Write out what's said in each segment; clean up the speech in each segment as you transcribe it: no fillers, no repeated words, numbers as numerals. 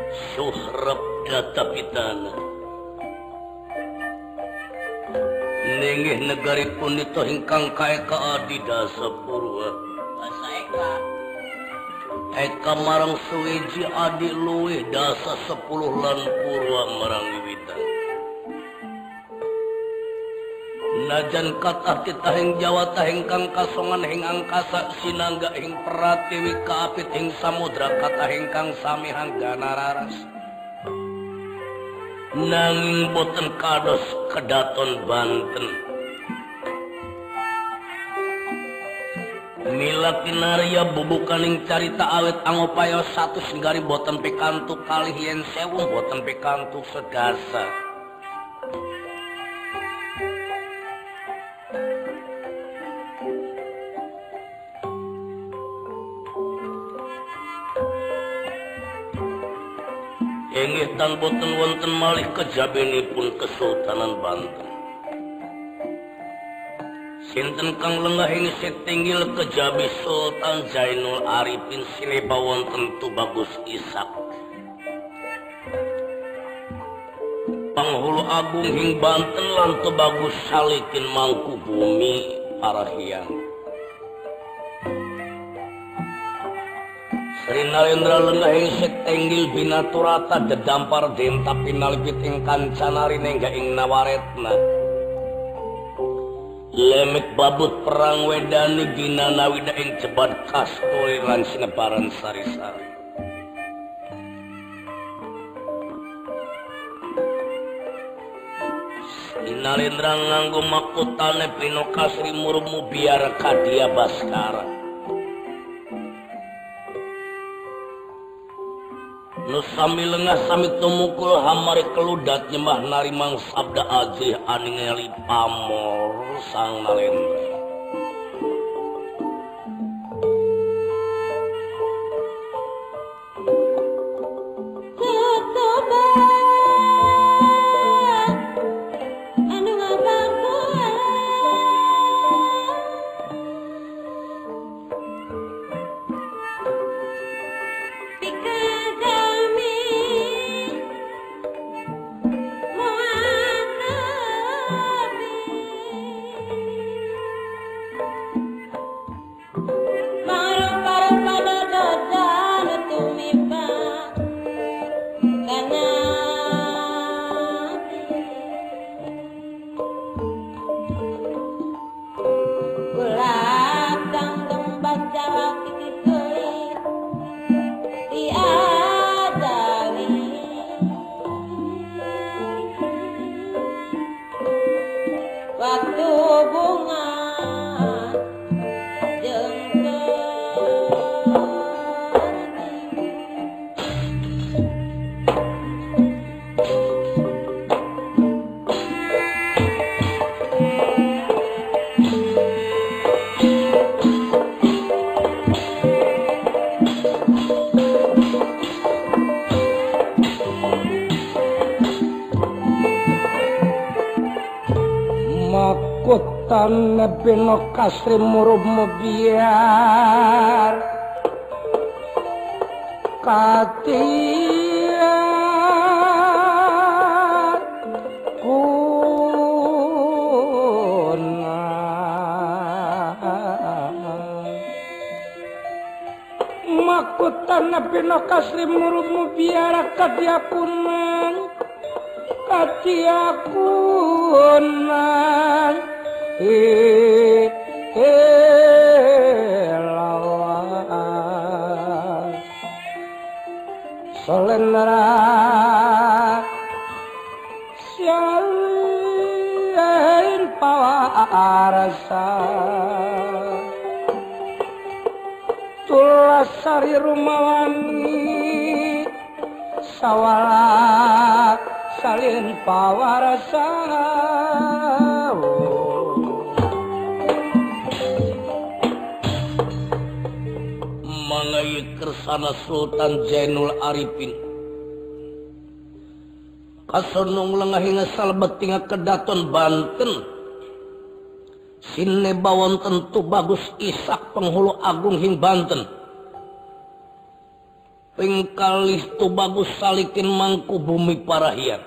Suhrab data pitana nenggih negari punita ingkang kaeka adidasa purwa Basa Eka eka marang suwiji adi luwih dasa 10 lan purwa marang wiwitan najan kathah titah ing Jawa tahing kang kasongan ing angkasa sinangga ing pratiwi kaapit ing samudra kathah ingkang sami hanggana raras nanging boten kados kedaton Banten mila kinarya bubukaning carita awet angupaya satu singgari boten pikantuk kalih yen sewu boten pikantuk sedasa inggih tan boten wonten malih kejabinipun Kesultanan Banten. Sinten kang lenggah ing setinggil kejabi Sultan Zainul Arifin sinepa wonten Tubagus Ishak. Panghulu Agung ing Banten lan Tubagus Salikin Mangkubumi Parahyang. Sri Nalendra lenggah ing setenggil binaturata dedampar denta pinalipit ing kancanari nengga ing nawaretna lemek babut perang wedani ginana wida ing cebat kasturi lan sinebaran sari-sari Sri Nalendra nganggo makutane pinoka Sri Murmu biar kadia Baskara nu sami lengah sami tumukul hamari keludat nyembah narimang sabda ajih aningali pamor sang Nalendra makutane pinoka Sri Murmu biar katia kuna makutane pinoka Sri Murmu biar katia kuna katiakunan lawan solendra siain pawarasa tulasari rumawani sawala salin pawarasa mangai kersana Sultan Zainul Arifin kasonong lengahing salbetinga kedaton Banten sineba wonten Tubagus Ishak penghulu Agung hing Banten pengkalih tu bagus salikin mangku bumi parahian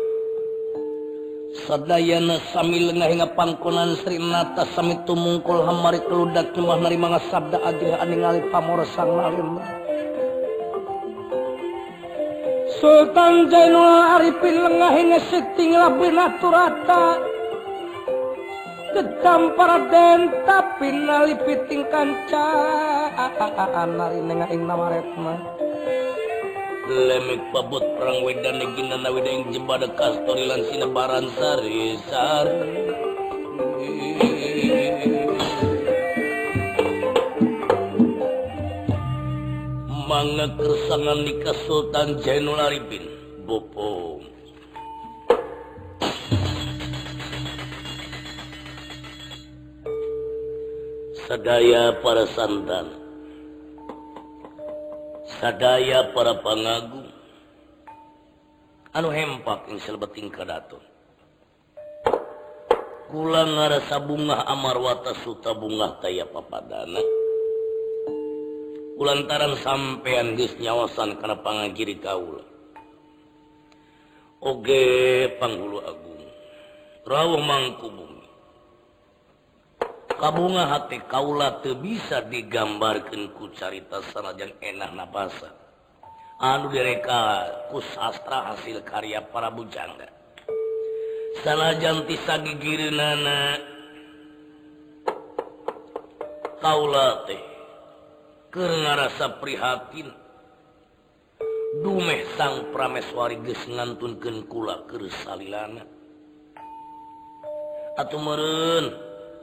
sadayana sambil ngahinga pangkonan Sri Nata sami tumungkul hamari keludak nyembah narimanga sabda ajih aningali pamor sang nalim Sultan Jainul Arifin lengahinga siting labina turata Ketampar den tapi nalipiting kanca nari nengaing namaretna lemik pabut perang wedan negina nawida ing jembada kastori lan sinebaran sari mangga kersangan nikah Sultan Jainul Arifin bopo sadaya para santan sadaya para pangagung anu hempak ing salebeting kadaton kula ngarasa bungah amarwata suta bungah taya papadana kulantaran sampean geus nyawasan kana pangagiri kaula oge panghulu agung rawuh mangku bumi kabunga hati kaula teu bisa digambarkeun ku carita sanajan enah nabasa anu direka ku sastra hasil karya para bujangga sanajan ti sagigireunana kaula teh keur ngarasa prihatin dumeh sang prameswari geus ngantunkeun kula keur salilana atuh meureun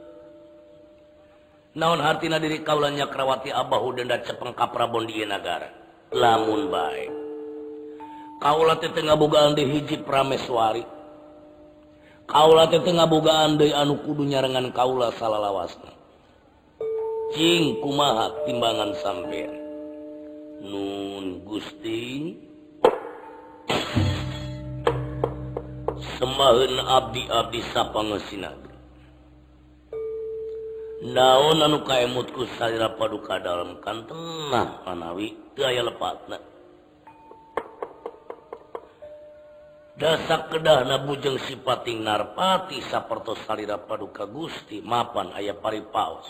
naon hartina diri kaula Nyakrawati abahu denda cepeng ka Prabon di ieu nagara lamun bae kaula teh teu ngabogaan deui hiji prameswari kaula teh teu ngabogaan deui anu kudu nyarengan kaula salalawasna cing kumaha timbangan sampean nun Gusti semaheun abdi-abdi sapangeusina naon anu kaemutku salira paduka dalam kanteng nah manawi teu aya lepatna dasa kedahna bujeng sipating narpati sapertos salira paduka Gusti mapan aya paripaos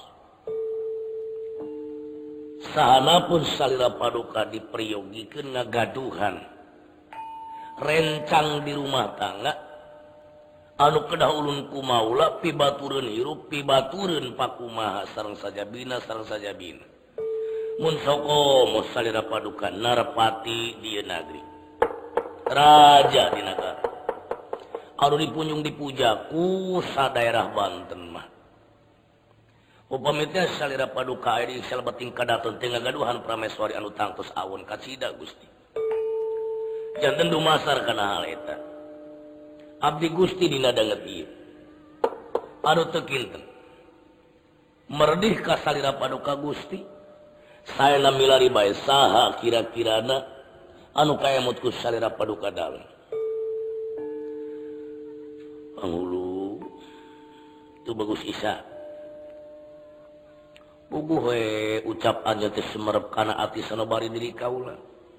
sahanapun salira paduka dipriyogikeun ngagaduhan rencang di rumah tangga anu kedah ulun kumaula pibatureun hirup pibatureun pakumaha sareng sajabina mun soko salira paduka narpati di negeri raja di negara anu dipunjung dipuja ku sadaerah Banten mah upami teh salira paduka aya di salebeting kadaton teu ngagaduhan prameswari anu tangtos awon kacida Gusti janten dumasar kana hal eta abdi Gusti dina danget ieu anu teu kinten merdih ka salira paduka Gusti saena milari bae saha kira-kirana anu kaemut ku salira paduka dalam panghulu tu bagus isa puguh we ucapan teh sumerep kana ati sanabari diri kaula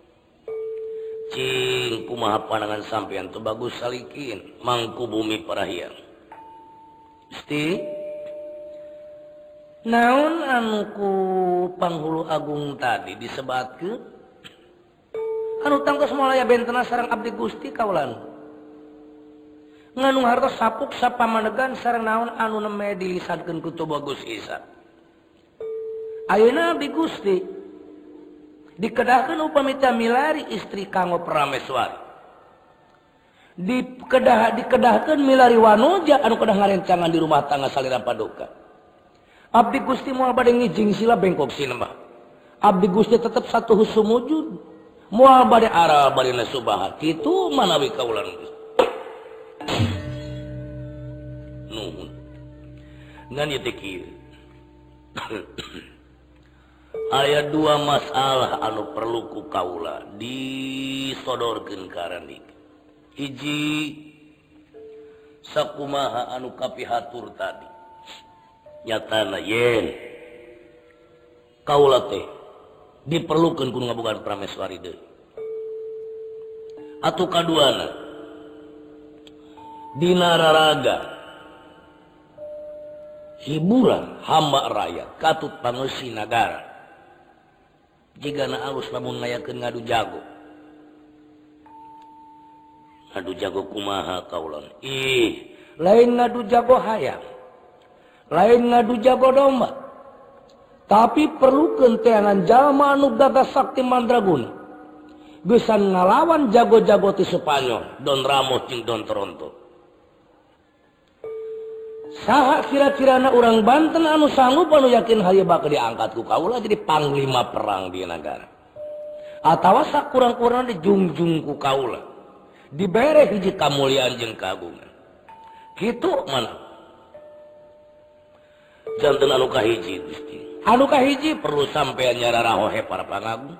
cing kumaha pandangan sampean tu bagus salikin mangku bumi parahian Gusti naon anu ku panghulu agung tadi disebatkeun anu tangtos mulaya bentena sareng abdi Gusti kaulan nganu hartos sapuk sapamanegan sareng naon anu neme dilisankeun ku tu bagus isa ayeuna abdi Gusti dikedahkeun upami teh milari istri kanggo prameswari dikedahkeun milari wanuja anu kedah ngarencangan di rumah tangga salira paduka abdi Gusti moal bade ngijing sila bengkok sinembah abdi Gusti tetep satu husum wujud moal bade ara bade nasubaha kitu manawi kaulan Gusti nuhun ngan ieu teh kieu aya dua masalah anu perlu ku kaula disodorkeun ka randik hiji sakumaha anu kapihatur tadi nyatana yen kaula teh diperlukan kudu ngabogaan prameswari deui. Atuh kaduana dina raraga hiburan hamba rakyat katut pangeusi nagara jigana alus lamun ngayakeun ngadu jago. Ngadu jago kumaha kaulan? Lain ngadu jago hayam, lain ngadu jago domba, tapi perlu kenteangan jalma anu gagah sakti mandraguna bisa ngalawan jago-jago ti Spanyol Don Ramos jeung Don Toronto. Saha kira-kirana urang Banten anu sanggup anu yakin hayu bakal diangkat ku kaula jadi panglima perang di negara, atawa sakurang-kurang dijungjung ku kaula dibere hiji kamuliaan jeung kagungan kitu mana janten anu kahiji Gusti. Anu kahiji perlu sampean nyararahohe para pangagung.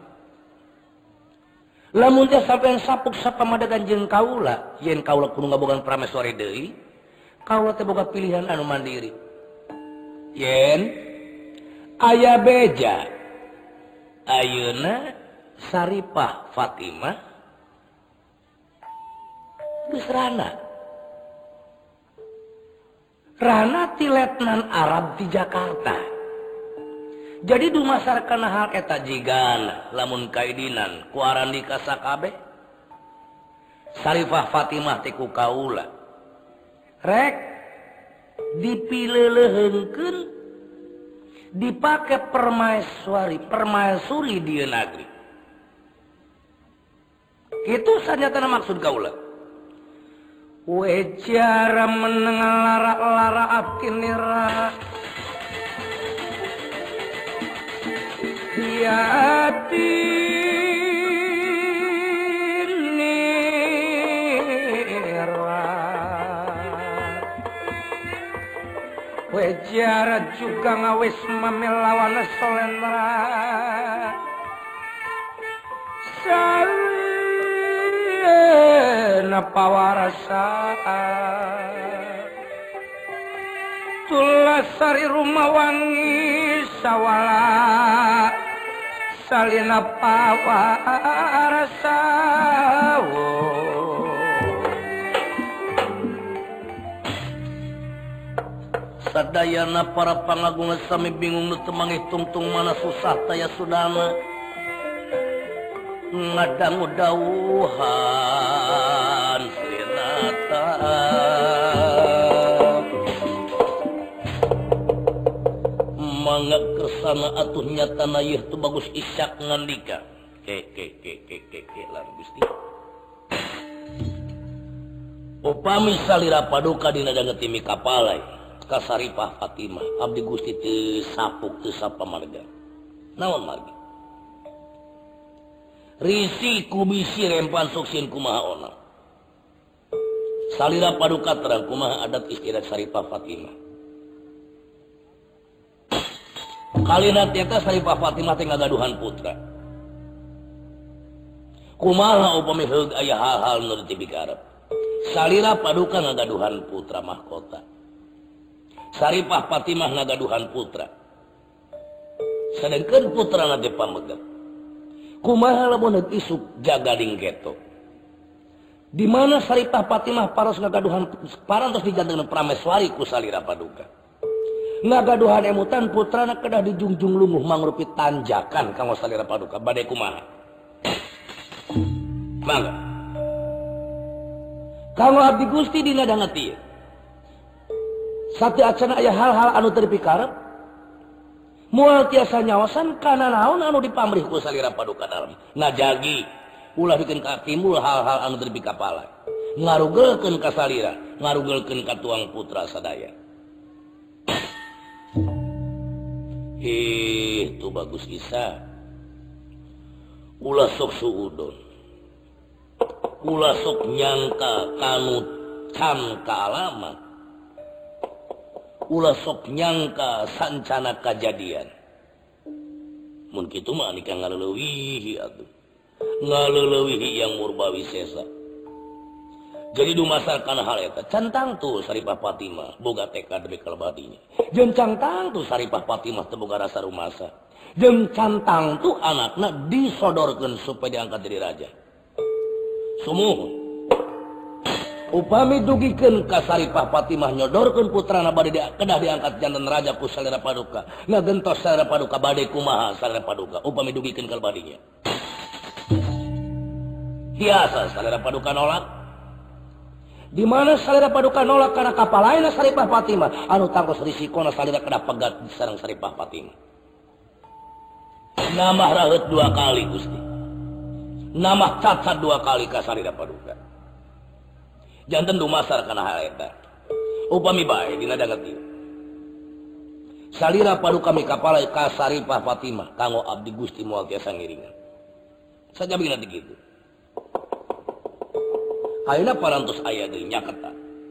Lamun teh sampean sapuk sapamadagan jeung kaula, yen kaula kudu ngabogaan prameswari deui, kaula teh boga pilihan anu mandiri. Yen aya beja ayeuna Saripah Fatimah geus Rana ti letnan Arab di Jakarta. Jadi dumasarkan hal eta jigan lamun kaidinan ku Arandika sakabeh Saripah Fatimah teh ku kaula rek dipileuleheunkeun dipake permaisuri di negeri. Kitu sanyatana maksud kaula. Wejara menengal lara-lara akinira Yati nira Wejara juga ngawis mamilawan solendra napa warasa tulasari rumah wangi sawala salina pawarasa sadayana para pangagung sami bingung nu teu manghitung-tung mana susah taya sudana ngadangu dauhan sinata mangga kersana atuh nyatana ieu teu bagus Isyak ngandika ke lan Gusti upami salira paduka dina dangeuti mikapalai ka Saripah Fatimah abdi Gusti teu sapuk teu sapamarga naon margi risi kubisi rempan suksin kumaha ona salira paduka terang kumaha adat istiadat Saripah Fatimah kalina eta Saripah Fatimah teh ngagaduhan putra kumaha upami heug aya hal-hal nu dipikarep salira paduka ngagaduhan putra mahkota Saripah Fatimah ngagaduhan putra sedengkeun putrana teh pamegep kumaha lamun isuk jagading geto di mana Saripah Fatimah paros ngagaduhan parantos dijantengna prameswari ku salira paduka ngagaduhan emutan putrana kedah dijungjung lungguh mangrupi tanjakan kanggo salira paduka bade kumaha mangga kanggo abdi Gusti dina dangeuti sate acana aya hal-hal anu teu dipikarep moal tiasa nyawasan kana naon anu dipamrih ku salira paduka dalam ngajagi ulah bikin timbul hal-hal anu teu dipikapala ngarugelkeun ka salira ngarugelkeun ka tuang putra sadaya itu bagus Isa ulah sok suudon ulah sok nyangka kanu can kaalamat ulah sok nyangka sancana kejadian mun kitu mah nikah ngaleuweuhi atuh ngaleuweuhi yang murbawi sesa jadi dumasarkan hal eta cantang tuh Saripah Fatimah boga tekad demi kalebadinya jeung cantang tuh Saripah Fatimah teu boga rasa rumasa jeung cantang tuh anakna disodorkeun supaya diangkat jadi raja. Sumuhun upami dugikeun ka Saripah Fatimah nyodorkeun putrana bade kedah diangkat janten raja ku Salira Paduka ngagentos Salira Paduka bade kumaha Salira Paduka upami dugikeun ka badinya biasa Salira Paduka nolak. Di mana Salira Paduka nolak karena kapalaina Saripah Fatimah anu tangkos risikona Salira kedah pegat sareng Saripah Fatimah. Namah raheut 2 kali Gusti. Namah cacat 2 kali ka Salira Paduka. Janten dumasar kana hal eta. Upami bae dina danget ieu. Salira Paduka mikapala ka Saripah Fatimah kanggo abdi Gusti moal tiasa ngiringan. Sajabina teh kitu. Ayeuna parantos aya deui nyaketa.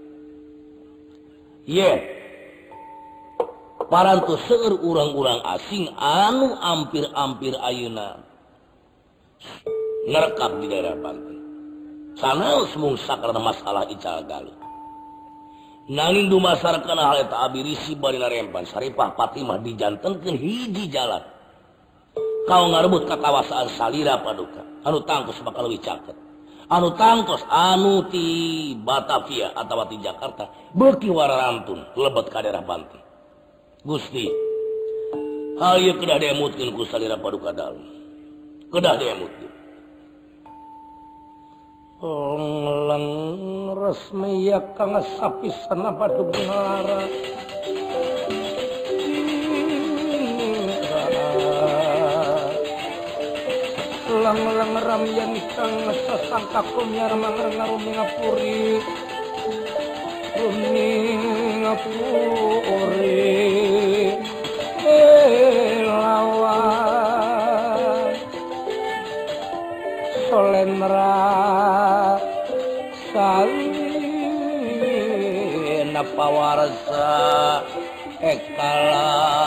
Ye. Parantos seueur urang-urang asing anu ampir-ampir ayeuna ngerekap di daerah Banten. Sanaos mung sakarna masalah ical galuh. Nanging dumasarkeun hal eta abi risi bari narempan Saripah Fatimah dijantenkeun hiji jalan. Kau ngarebut kakawasaan Salira Paduka anu tangkos bakal leuwih caket. Anu tangkos anu ti Batavia atawa ti Jakarta beuki wararantun lebet ka daerah Banten. Gusti hayu kedah diemutkeun ku Salira Paduka dalem. Kedah diemutkeun. Lang resmi ya kang sapisana badug ngara. Lang ramyan kang sasangka kumyar mangarung ngapuri lawan solendra salina pawarsa ekala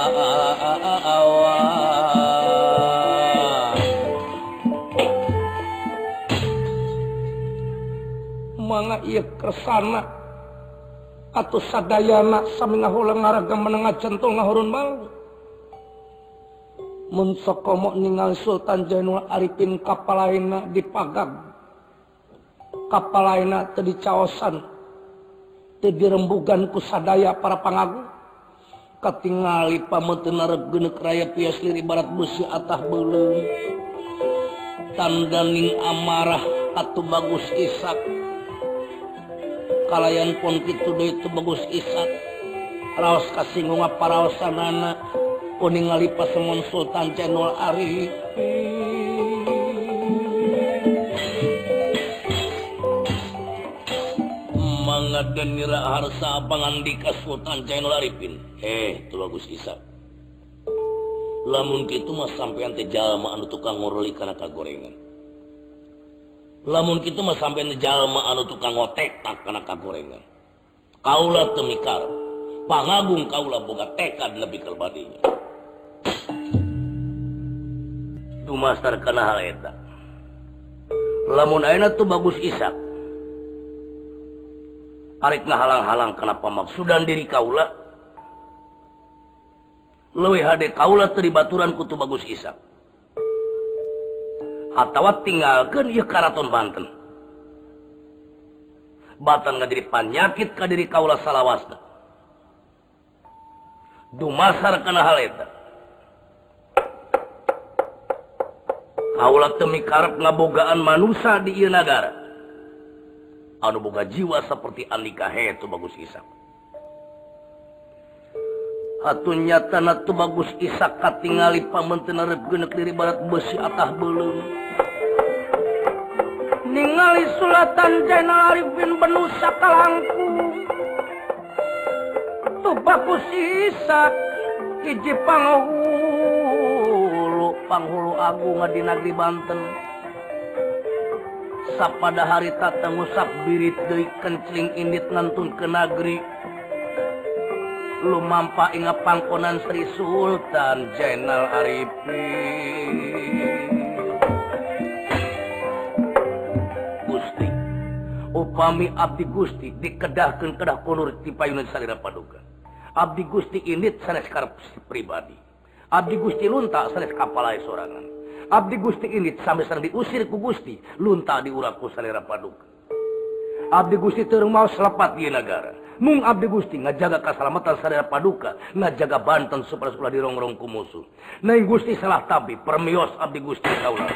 mangga ieu kersana atuh sadayana sami ngahulang ngaragam menengah centul ngahurun malu mun sokomo ningali Sultan Jainul Arifin kapalaina dipagag kapalaina teu dicaosan teu dirembugan ku sadaya para pangagung katingali pameuteuan arep geuneuk raya pias lir ibarat besi atah beuleum tandaning amarah atuh Bagus Ishak kalayan pun kitu deui teu Bagus Ishak raos kasinggung paraosanana pun ningali pasemon Sultan Jainul Arifin mangadenira harsa pangandika Sultan Jainul Arifin teu Bagus Ishak lamun kitu mah sampean teh jalma anu tukang ngoroli kana kagorengan lamun kitu mah sampean teh jalma anu tukang ngotekak kana kagorengan kaula teu mikarep pangagung kaula boga tekad nepi ka badinya dumasar kana hal eta lamun ayeuna tuh Bagus Ishak arek ngahalang-halang kana pamaksudan diri kaula leuwih hade kaula teu dibaturan ku tu Bagus Ishak atawa tinggalkeun ieu karaton Banten batan ngadiri panyakit ka diri kaula salawasna dumasar kana hal eta kaula teu mikarep ngabogaan manusia di ieu nagara anu boga jiwa seperti Andika heuh Bagus Ishak atuh nyatana tu Bagus Ishak katingali pameunteun arep geuneuk diri barat besi atah beuleum ningali Sultan Jainul Arifin penuh sakalangkung tu Bagus Ishak hiji panghulu agung di negeri Banten sapada hari tata ngusap birit deui kencling indit ngantun ke negeri lumampa inga pangkonan Sri Sultan Jainul Arifin Gusti upami abdi Gusti dikedahkeun kedah kunur ti payunan Salira Paduka abdi Gusti indit sanes karep pribadi Abdi Gusti lunta sanes kapalai sorangan. Abdi Gusti ini sampai sareng diusir ku Gusti, lunta diurak ku salira paduka. Abdi Gusti teu mau selepat di negara. Mung Abdi Gusti ngajaga keselamatan salira paduka, ngajaga Banten supaya dirongrong ku musuh. Nai Gusti salah tabi permios Abdi Gusti kaula.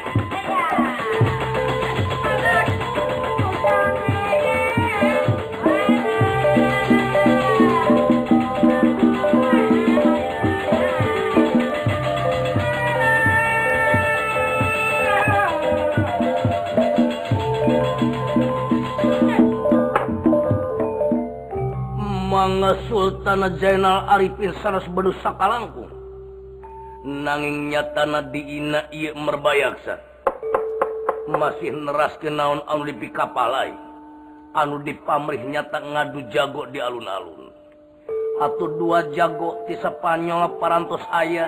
Mangga Sultan Zainal Arifin sanes bedu sakalangkung. Nanging nyatana diina ieu merbayaksa. Masih neraskeun naon anu dipikapalai. Anu dipamrih nyata ngadu jago di alun-alun. Atuh dua jago ti Spanyol parantos aya.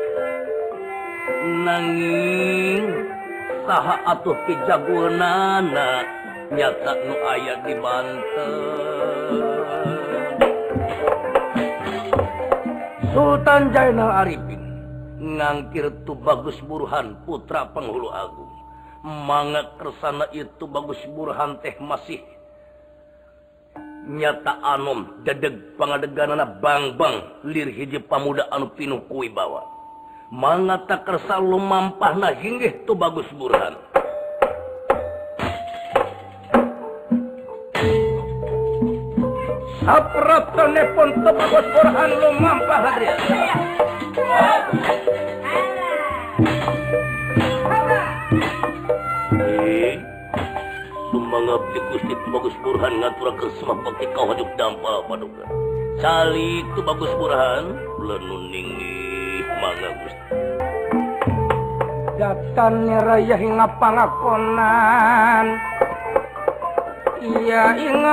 Nanging saha atuh pijagoanana nyata nu aya di Banten. Sultan Zainal Arifin ngangkir tu Bagus Burhan putra Penghulu Agung. Mangga kersana itu Bagus Burhan teh masih nyata anom dedeg pangadeganana bang-bang lir hiji pamuda anu pinuh ku wibawa. Mangga tak kersa lumampahna hinggih tu Bagus Burhan. Sapratanepun tu Bagus Burhan lumampah hadria. Sumbang abdi Gusti tu Bagus Burhan ngaturakeun semah bakti kawajuk dampal paduka. Cali tu Bagus Burhan lenuningih mangga Gusti. Datan raya hingga pangakonan. Iya inga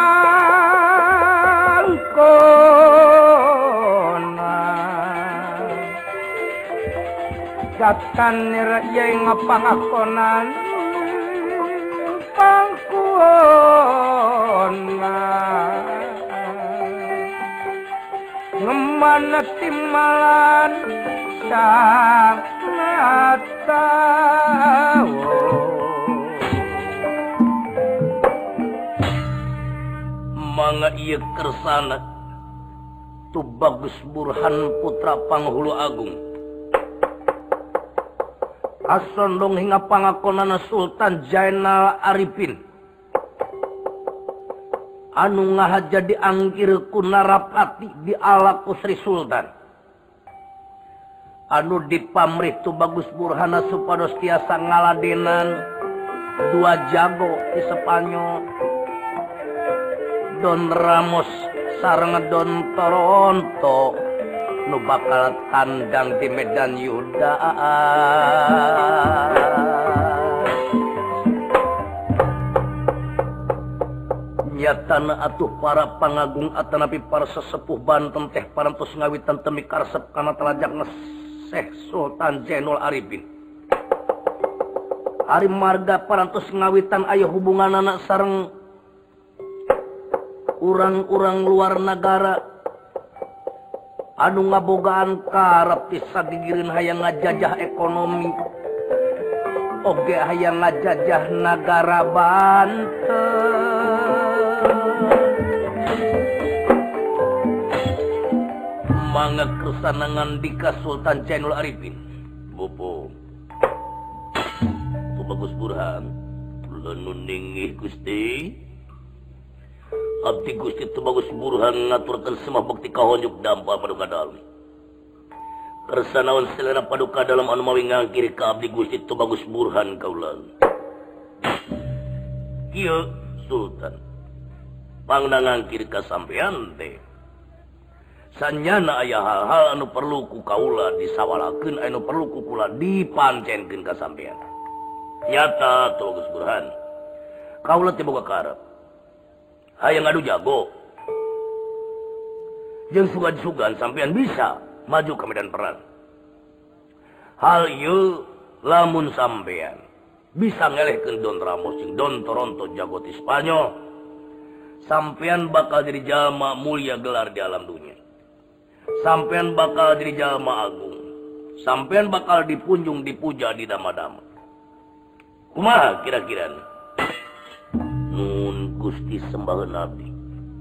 pangkonan. Datan raya hingga pangakonan. Pangkonan. Ngemana timalan sang tahu. Mangga ieu kersana tu Bagus Burhan putra Penghulu Agung. Asondong hingga pangakonana Sultan Zainal Arifin. Anu ngahaja dianggir ku Narapati di alaku Sri Sultan. Anu dipamrih tu Bagus Burhana supados tiasa ngaladenan dua jago di Spanyol. Don Ramos sareng Don Toronto nu bakal tandang di Medan Yuda. Nyatana atuh para pangagung atanapi para sesepuh Banten teh parantos ngawitan temi karesep kana telajak Syekh Sultan Zainal Arifin. Ari marga parantos ngawitan aya hubunganana sareng urang-urang luar negara anu ngabogaan karep ti sagigireun hayang ngajajah ekonomi oge hayang ngajajah nagara Banten. Mangga kersana ngandika Sultan Zainal Arifin. Bopo tu Bagus Burhan lenuningih Gusti. Abdi Gusti tu Bagus Burhan ngaturkeun semah bakti kahonjuk dampal paduka dalem. Kersanaon selera paduka dalam anu mawi ngangkiri ka Abdi Gusti tu Bagus Burhan kaula. Kieu Sultan pangna ngangkiri ka sampean teh. Sanyana aya hal-hal anu perlu ku kaula disawalakeun anu perlu ku kula dipancenkeun ka sampean. Nyata tu Bagus Burhan. Kaula teh boga karep hayang ngadu jago. Jeung sugan-sugan sampean bisa maju ke medan perang. Hal ieu lamun sampean bisa ngelehkeun Don Ramos jeung Don Toronto jago ti Spanyol, sampean bakal jadi jalma mulia gelar di alam dunia. Sampean bakal jadi jalma agung, sampean bakal dipunjung dipuja di dama-dama. Kumaha kira-kira? Nun Gusti sembaheun abdi.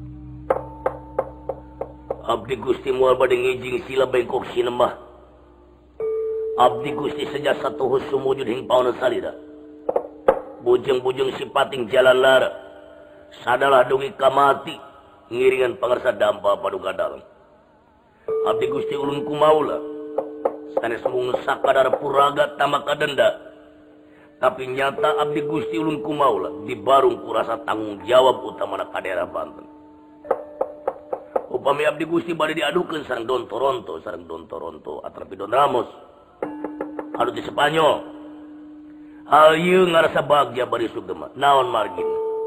Abdi Gusti moal bade ngijing sila bengkok sinembah. Abdi Gusti sejasa tuhus sumujud hing pauna salira. Bujeng-bujeng sipating jalan lara. Sadalah dungi kamati ngiringan pangarsa dampa paduka dalam. Abdi Gusti ulun kumaula. Sanes mung sakadar puraga tamaka denda. Tapi nyata abdi Gusti ulun kumaula dibarung kurasa tanggung jawab utamana ka daerah Banten. Upami abdi Gusti bade diadukeun sareng Don Toronto atrapi Don Ramos. Anu di Spanyol. Hal ieu ngarasa bagja bari sugema. Naon margin?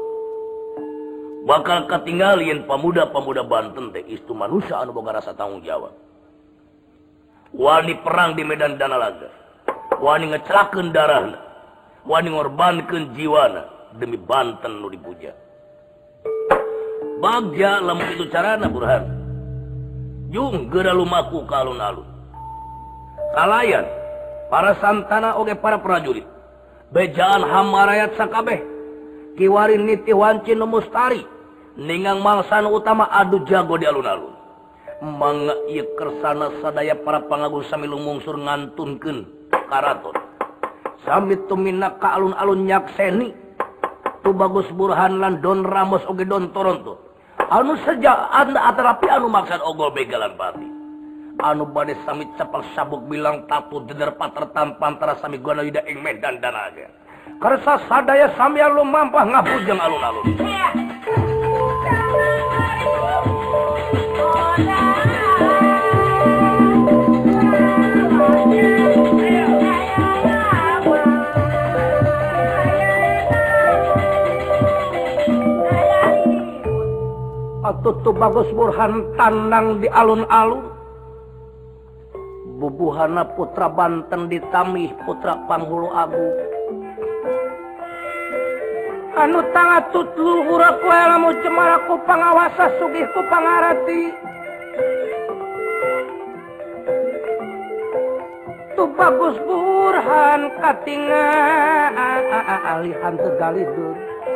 Bakal katinggalieun pamuda-pamuda Banten teh istu manusia anu boga rasa tanggung jawab. Wani perang di medan Danalaga. Wani ngecelakeun darahna. Wani ngorbankeun jiwana demi Banten nu dipuja. Bagja lamun itu carana Burhan. Jung geura lumaku ka alun-alun. Kalayan para santana oge para prajurit. Bejaan hamarayat sakabeh. Kiwarin niti wancin nu mustari. Ningang mangsa nu utama adu jago di alun-alun. Mangga ieu kersana sadaya para pangagung sami lumungsur ngantunkeun karaton. Sami tumina ka alun-alun nyakseni tu Bagus Burhan lan Don Ramos oge Don Toronto anu saja anda atarapi anu maksud ogol begalan pati anu bade sami capak sabuk bilang tatu jeder patertan pantara sami guna yuda ing medan danaga karsa sadaya sami anu mampah ngabujeng alun-alun. Tutu Bagus Burhan tandang di alun-alun. Bubuhana putra Banten ditamih putra Panghulu Agung. Anu tangatut luhur aku lamu cemaraku pangawasa sugihku pangarati. Tu Bagus Burhan katingali tegalidun.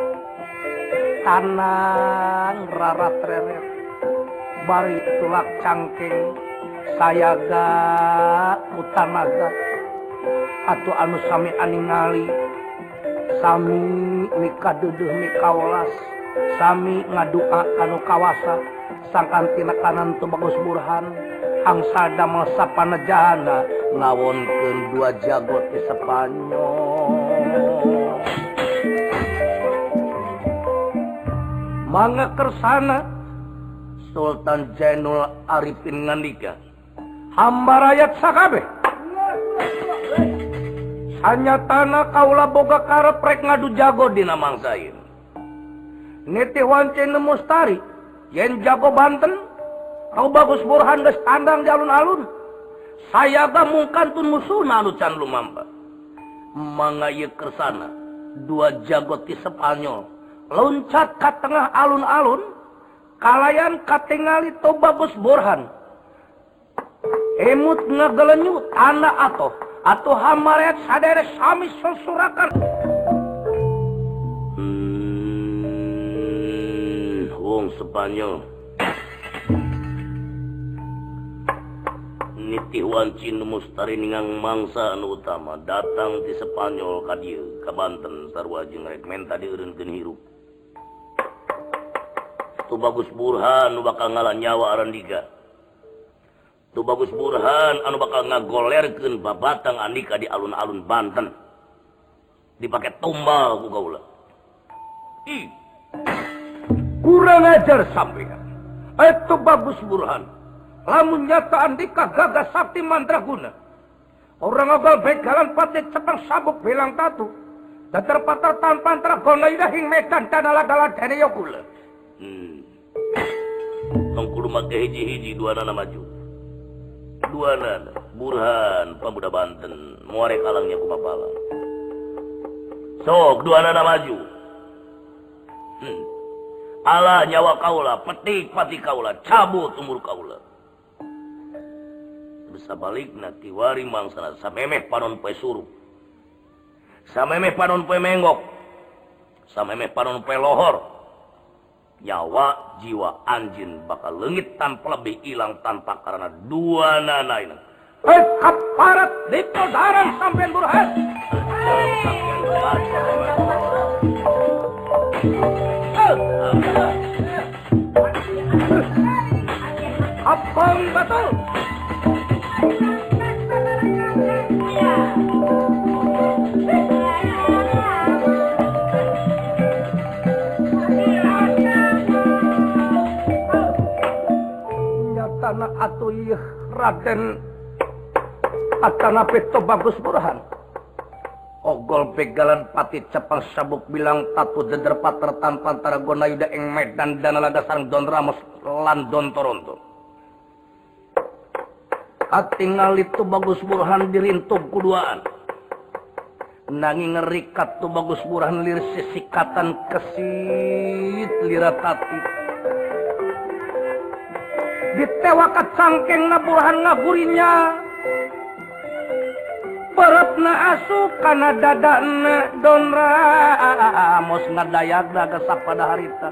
Tanang rarat reret bari tulak cangking sayaga utanaga atuh anu sami aningali sami mikaduduh mikaulas sami ngadua kanu kawasa sangkantina kanan tu Bagus Burhan angsa damel sapanejana ngawonkeun dua jago ti Spanyol. Mangga kersana Sultan Jainul Arifin ngandika hamba rakyat sakabeh sanyatana kaula boga karep rek ngadu jago dina mangsain niti wancen mustari yen jago Banten kau Bagus Burhan geus tandang di alun-alun saya ga mungkantun musuhna anu can lumampa mangga ieu kersana dua jago ti Spanyol loncat ke tengah alun-alun kalayan katingali to Bagus Burhan emut ngagelenyut anak atau hamaret sadere sami susurakan wong Spanyol niti wancin mustari ningang mangsa anu utama datang di Spanyol ka dieu ka Banten sarua jeung rek menta dieureunkeun hirup. Tu Bagus Burhan anu bakal ngalah nyawa arandika. Tu Bagus Burhan anu bakal ngagolerkeun babatang andika di alun-alun Banten. Dipake tumbal ku kaula. Ih. Kurang ajar sampean. Itu Bagus Burhan. Lamun nyata andika gagah sakti mandraguna. Orang ogal begalan pati cepang sabuk bilang tatu. Datar patar tanpan tergona idahing medan danala-dala dene yokula. Tongkulu make hiji-hiji dua nana maju. Dua nana Burhan pemuda Banten muare kalangnya kumapala. Sok dua nana maju. Ala nyawa kaula petik pati kaula cabut umur kaula. sabalikna kiwari mangsana samemeh panon poe suruh samemeh panon poe menggok samemeh panon poe lohor nyawa jiwa anjin bakal leungit tanpa lebih hilang tanpa karena dua nanaina kaparat ditodaran sampean burhan abang betul nyatana atuh ieu Raden Atana Peto Bagus Burhan ogol begalan pati cepang sabuk bilang tatu deder pater tanpa antara gonayuda ing medan dana laga sareng Don Ramos lan Don Toronto katingal itu Bagus Burhan dirintug kuduaan nanging ngerikat tu Bagus Burhan lir sisikatan kesit liratati ditewakat sangkeng na Burhan ngagurinya perutna asup kana dadana Don Ramos ngadayak daga sapada harita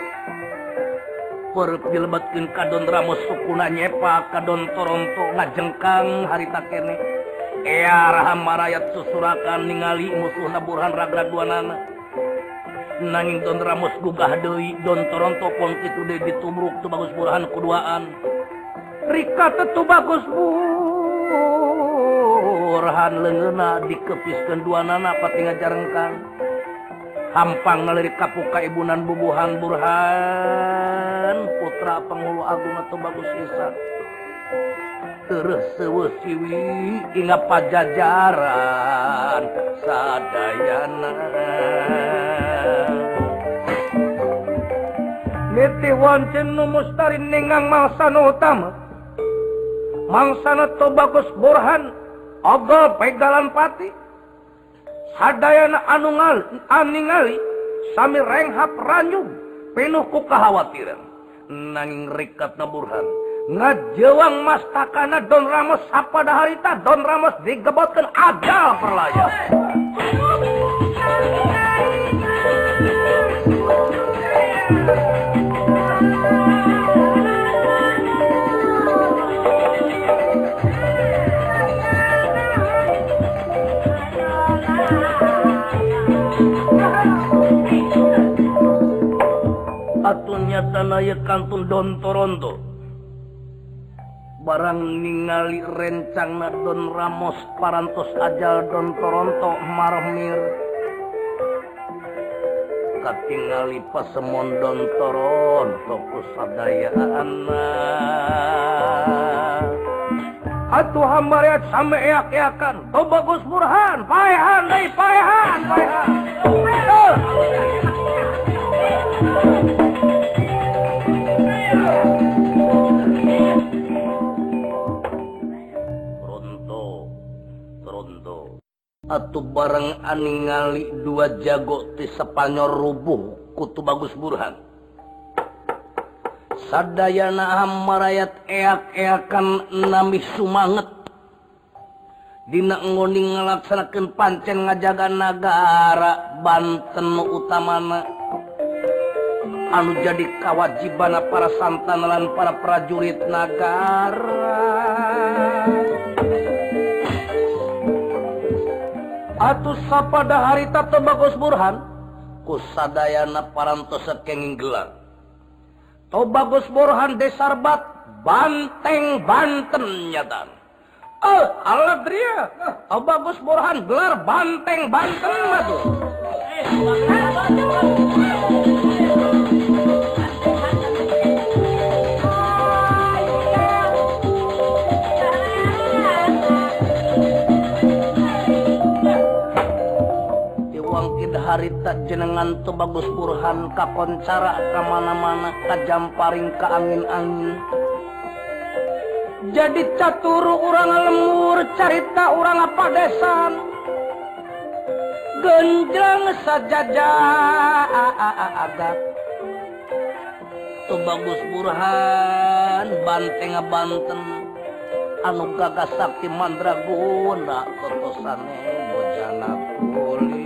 perut dilebetkeun ka Don Ramos sukuna nyepa ka Don Toronto ngajengkang harita kene ea raham marayat susurakan ningali musuhna Burhan ragrag duanana nanging Don Ramos gugah deui Don Toronto pun kitu deui ditubruk tu Bagus Burhan kuduaan rika tetu Bagus Burhan leungeuna dikepiskeun duanana pati ngajarengkang hampang nalirik kapuka ibunan bubuhan Burhan putra penghulu agung atau Bagus Ihsan terus seueuh siwi ingat pajajaran sadayana niti wancen nu mustari ningang mangsana utama mangsana to Bagus Burhan ogol pegalan pati sadayana anu ningali sami renghap ranyug penuh ku kahawatiran nanging rikatna Burhan ngajewang mastakana Don Ramos sapada harita Don Ramos digebotkeun ajal perlaya atunya tanaya kantun Don Toronto barang ningali rencangna Don Ramos parantos ajal Don Toronto marmir katingali pasemon Don Toronto kusadayaanna atuh hambariat same eak-eakan to Bagus Burhan paehan deui paehan atuh bareng aningali dua jago ti Spanyol rubuh kutu Bagus Burhan sadayana hamarayat eak-eakan nami sumanget dina ngoning ngalaksanakeun pancen ngajaga nagara Banten utamana anu jadi kawajibana para santan lan para prajurit nagara atuh sapada harita teu Bagus Burhan kusadayana parantos kenging gelar to Bagus Burhan desarbat Banteng Banten nyatan aladria to Bagus Burhan gelar Banteng Banten matuh harita jenengan tu Bagus Burhan kakoncara kamana-mana kajamparing ka angin-angin jadi caturu urang lemur carita urang padesan genjang sajajagat tu Bagus Burhan Banteng Banten anu gagah sakti mandraguna totosane bojana kuli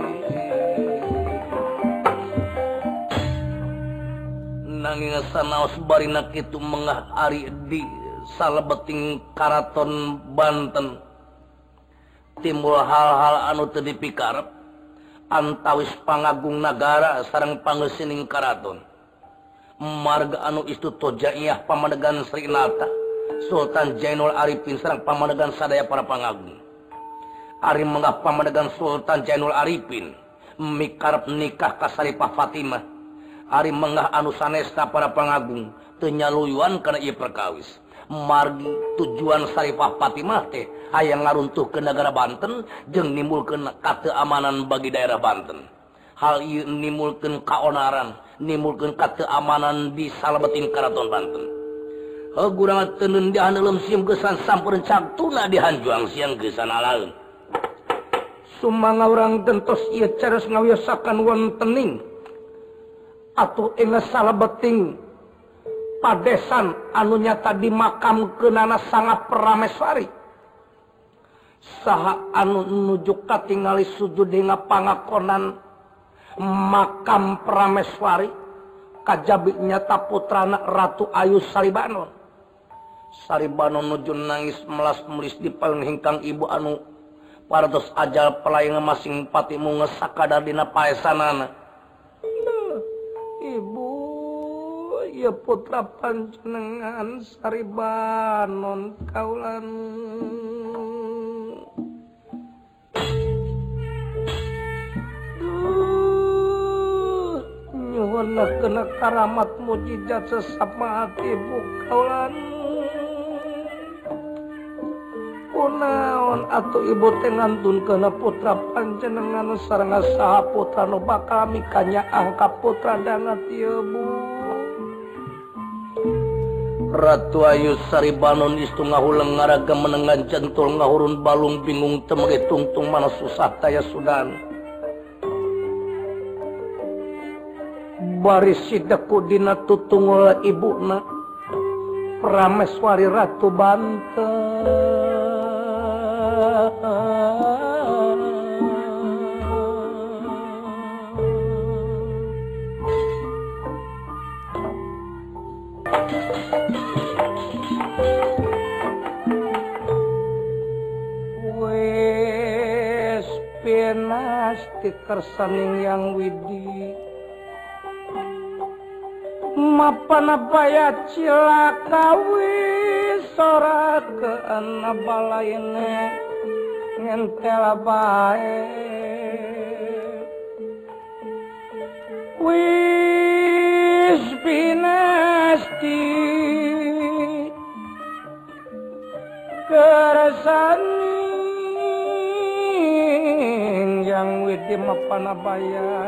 nanging sanaos barina kitu mengah ari di salebeting Karaton Banten timbul hal-hal anu teu dipikarep antawis pangagung nagara sareng panggeusining karaton marga anu istu tojaiyah pamadegan Srinata Sultan Jainul Arifin sareng pamadegan sadaya para pangagung ari menggah pamadegan Sultan Jainul Arifin mikarep nikah ka Saripah Fatimah ari menggah anu sanesta para pangagung teu nyaluyuan kana ieu perkawis margi tujuan Saripah Fatimah teh hayang ngaruntuhkeun nagara Banten jeung nimbulkeun kateuamanan bagi daerah Banten. Hal ieu nimbulkeun kaonaran, nimbulkeun kateuamanan di salebeting Karaton Banten. Heugurangan teu neundihan leum sieum geusan sampeureuun cagtuna dihanjuang siang geusan alaeun. Sumangga urang gentos ieu cares ngawiyosakan wontening atuh engge salebeting padesan anu nyata dimakamkeunana Sangga Prameswari saha anu nuju katingali sujud dina pangakonan makam Prameswari kajabi nyata putrana Ratu Ayu Saribanon. Saribanon nuju nangis melas melis di paling hingkang ibu anu parantos ajal pelayan masing patimu ngesakadar dina paesanana. Ibu ya putra panjenengan Saribanon kaulan nyuhun kena karamat mujizat sesama hati ibu kaulan kunaon atuh ibu teh ngantun putra panjenengan sareng saha putra nu bakal mikanya angka putra dangat ieu bu. Ratu Ayu Saribanon istu ngahuleng ngaraga menengan jentul ngahurun balung bingung temege tungtung mana susah taya sudan. Baris sideku dina tutungul ibuna Prameswari Ratu Banten. Wes penasti kersaning yang widi mapana baya cilaka wis ora keana balaine ngentela bae wis pinasti kersaning yang widi mapana baya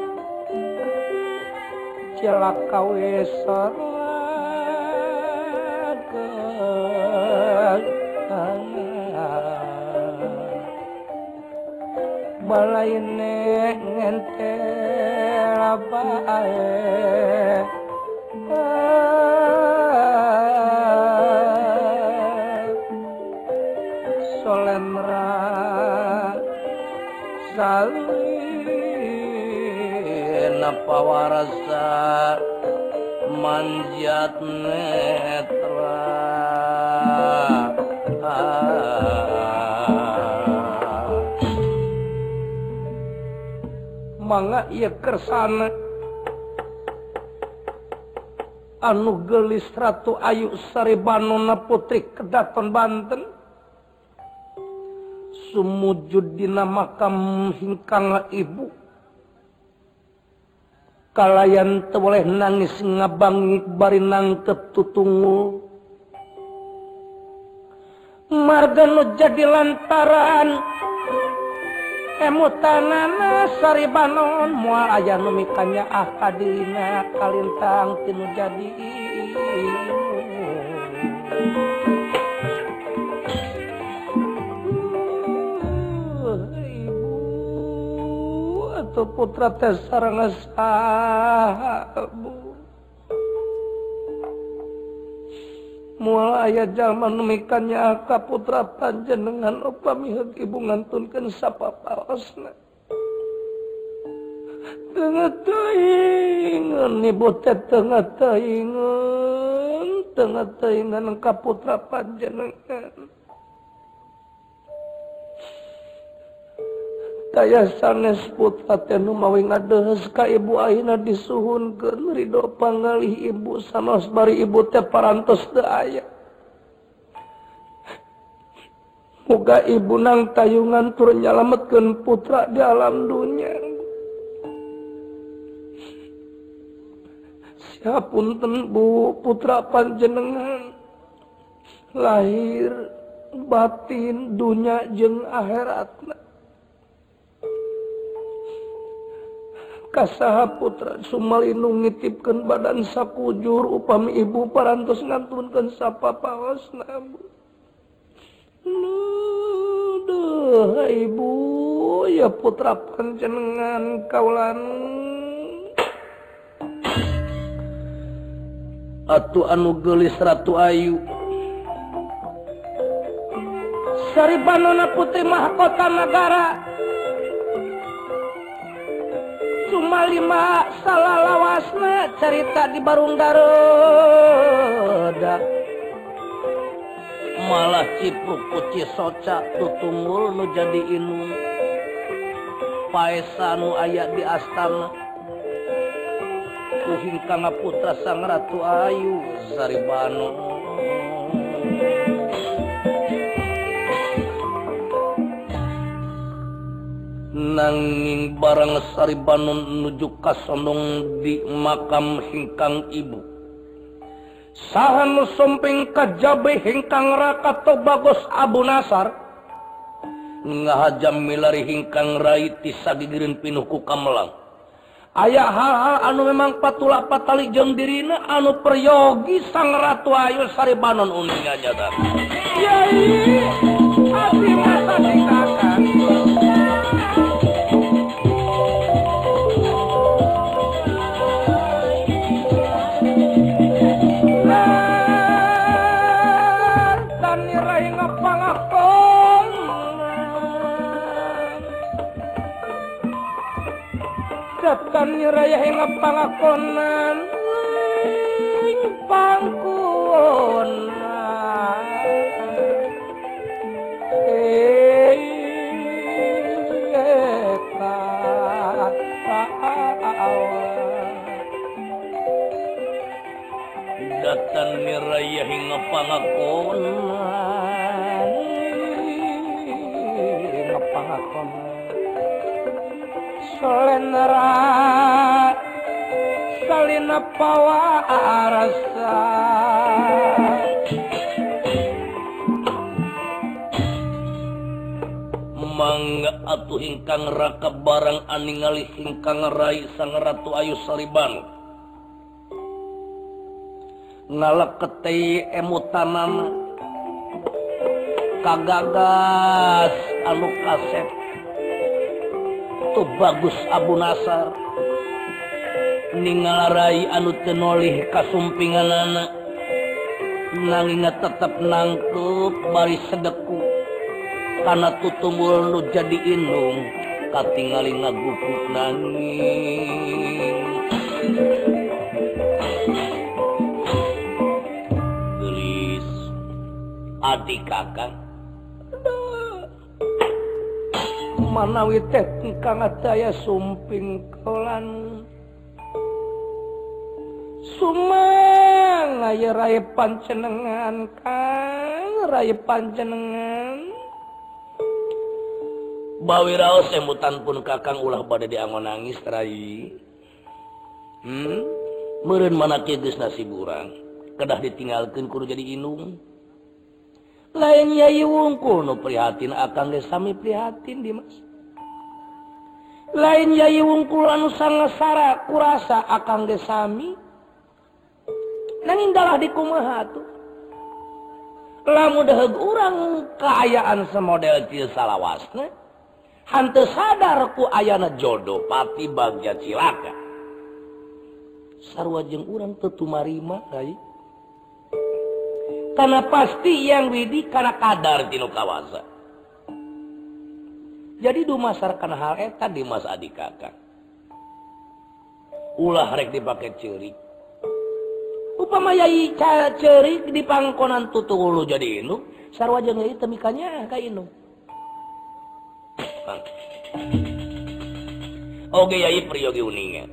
cilaka wis balaine ngentela bae solemra salina pawarasa manjat netra mangga ieu kersana anu geulis Ratu Ayu Saribanon putri Kadaton Banten sumujud dina makam hingkang ibu kalayan teu boleh nangis ngabangi bari nangkep tutungul marga nu jadi lantaran emutanana Saribanon moal aya nu mikanya kadina kalintang tinu jadi atau putra teh sareng saha bu Mual aya jalma nemikannya aka putra panjenengan upami ibu ngantunkeun sapapaosna. Tengah taingan ibu teh tengah taingan ka putra panjenengan. Daya sanes putra teh nu mawi ngadehes ka ibu ayeuna disuhunkeun ridho pangalih ibu sanos bari ibu teh parantos teu aya. Muga ibu nang tayungan tur nyalametkeun putra di alam dunya. Siapunten Bu, putra panjenengan lahir batin dunya jeung akhiratna. Kasaha putra sumalinu ngitipkeun badan sakujur upami ibu parantos ngantunkeun sapapaosna Bu. Duh ibu ya putra panjenengan kaulan atuh anu geulis Ratu Ayu Saribanona putri mahkota negara cuma 5 salalawasna cerita di Barunggaroda malah cipruk kuci soca tutunggul nu jadi inung paesa nu aya di astana kuhingkang putra sang Ratu Ayu Saribano nanging barang Saribano nuju kasondong di makam hingkang ibu saha nu somping kajabe hingkang Rakato Bagos Abu Nasar ngahajam milari hingkang rai tisagigireun pinuh ku kamelang aya hal-hal anu memang patula patali jeung dirina anu peryogi sang Ratu Ayu Saribanon uning nyata yai abdi masa dikakang Datan raya hingga pangakonan pangkunan datan raya hingga pangakonan Solenera salina pawarasa mangga atuh hingkang raka barang aningali hingkang rai sang Ratu Ayu Saribano ngaleketei emutanana kagagas anu kasep tu Bagus Abu Nasar ningalarai anu tenolih kasumpinganana nanging tetep nangkep bari sedeku kana tutumul nu jadi indung katingali ngagupuk nanging gelis adik kakang manawi teh kang daya sumping kolan sumang aya raya panjenengan kang raya panjenengan bawi raos emutan pun kakang ulah bade diangon nangis rai meureun manake geus nasib urang kedah ditinggalkeun kudu jadi inung lain Yai Wungkul nu prihatin akang ge sami prihatin Dimas lain Yai Wungkul anu sangasara kurasa akang ge sami nanging dalah dikumaha tuh lamun deheug urang kaayaan semodel kieu salawasna hanteu sadar ku ayana jodoh pati bagja cilaka sarua jeung urang teu tumarima rai karena pasti yang widi karena kadar tinu kawasa. Jadi dumasar kana hal eta di mas adik kakak. Ulah rek dipake ceurik. Upama yai ceurik di pangkonan tutulu jadi indung, sarua jeung ieu teu mikanya ka indung. Oge yai priyogi uningan.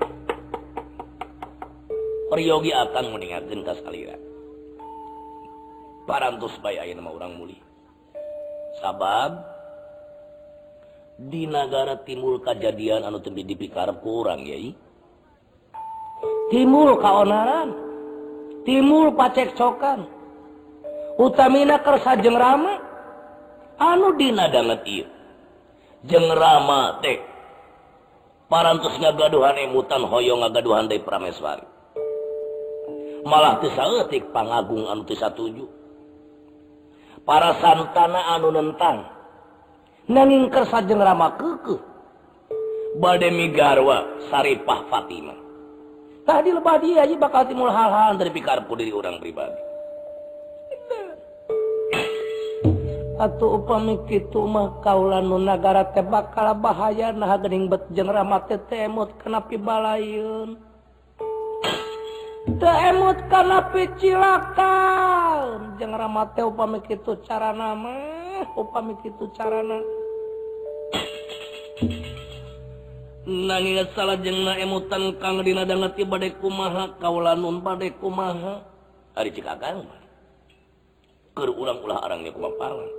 Priyogi akan meningatkeun ka salira. Parantos bae ayeuna mah urang muli. Sabab di negara timbul kejadian anu teu dipikarep ku urang yai. Timbul kaonaran, timbul pacekcokan. Utamina kersa jeung Rama anu dina danget ieu. Jeung Rama teh parantos ngagaduhan emutan hoyong ngagaduhan deui Prameswari. Malah teu saeutik pangagung anu teu satuju. Para santana anu nentang nanging kersa jeung Rama keukeuh bade migarwa Saripah Fatimah. Tadi lebah dia aja bakal timbul hal-hal dari pikarep diri orang pribadi. Atuh upami kitu mah kaula nu nagara teh bakal bahaya nah geuning bet jeung Rama teh emut kana pibalayeun. Teu emut kana picilakan jeung Rama teh upami kitu carana mah upami kitu carana. Nanging salah jeung emutan kang dina danget bade kumaha kaula nun bade kumaha ari cikagang keur urang ulah arangnya kumapalan.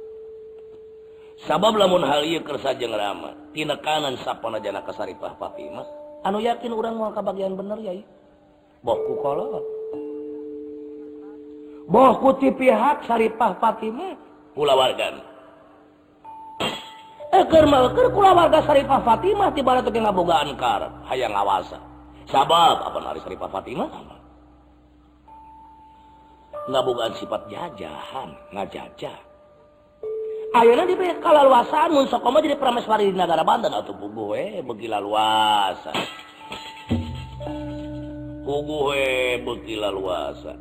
Sabab lamun hal ieu kersa jeung Rama tina kanan sapanajana ka Saripah Fatimah anu yakin urang moal kabagian bener yai. Boh ku kolot. Boh ku ti pihak Saripah Fatimah kulawargan. Keur kulawarga Saripah Fatimah tibara teu ngabogaan karep hayang ngawasa. Sabab apa ari Saripah Fatimah? Ngabogaan sifat jajahan, ngajajah. Ayeuna di kalaluasaan mun sok mah jadi Prameswari di negara Banten atuh puguh we beuki laluasa. Puguh we beuki laluasa.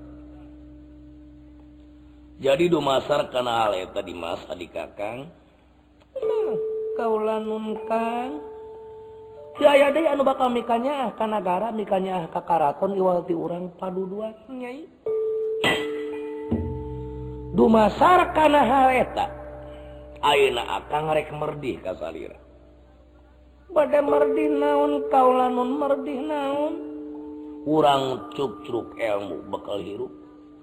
Jadi dumasar kana hal eta di Mas adik Kakang. Kaula nun Kang. Aya deui anu bakal mikanya ka nagara, mikanya ka karaton iwal ti urang paduduan nyai. Dumasar kana hal eta. Ayeuna akang rek merdih ka salira. Bade merdih naon kaula nun merdih naon? Urang cuk-cuk ilmu bakal hirup.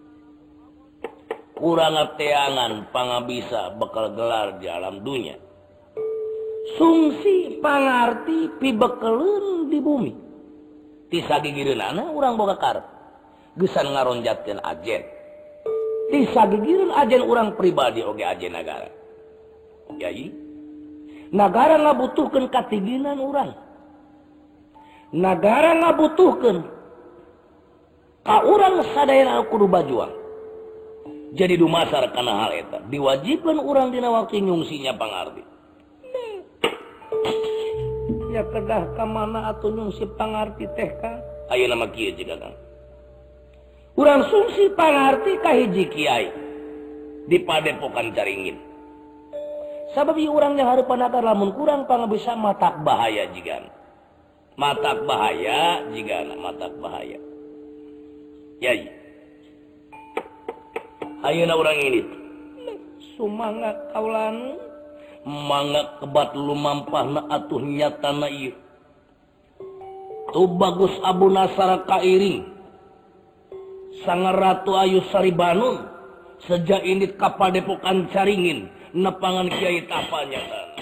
Urang teangan pangabisa bakal gelar di alam dunia. Sungsi pangarti pibekeleun di bumi. Ti sagigireunana urang boga karep. Geusan ngaronjatkeun ajen. Ti sagigireun ajen urang pribadi oge ajen nagara. Yai, nagara ngabutuhkeun katiginan urang. Nagara ngabutuhkeun ka urang sadayana kudu bajuang. Jadi dumasar kana hal eta diwajibkeun urang dina waktu nyungsinya pangarti. Ya kedah ka mana atuh nyungsi pangarti teh Kang? Ayeuna mah kieu jiga Kang. Urang sungsi pangarti ka hiji kiai di Padepokan Caringin. Sabab ieu urang yang hareupan nagara lamun kurang pangabisa matak bahaya jigan. Matak bahaya jigana matak bahaya. Yai. Ayeuna urang ini sumangga kaulan mangga kebat lumampahna atuh nyatana ieu. Tu bagus Abu Nasar kairing. Sang Ratu Ayu Saribanun sejak ini ka Padepokan Caringin nepangan Kiai Tapa nyatana.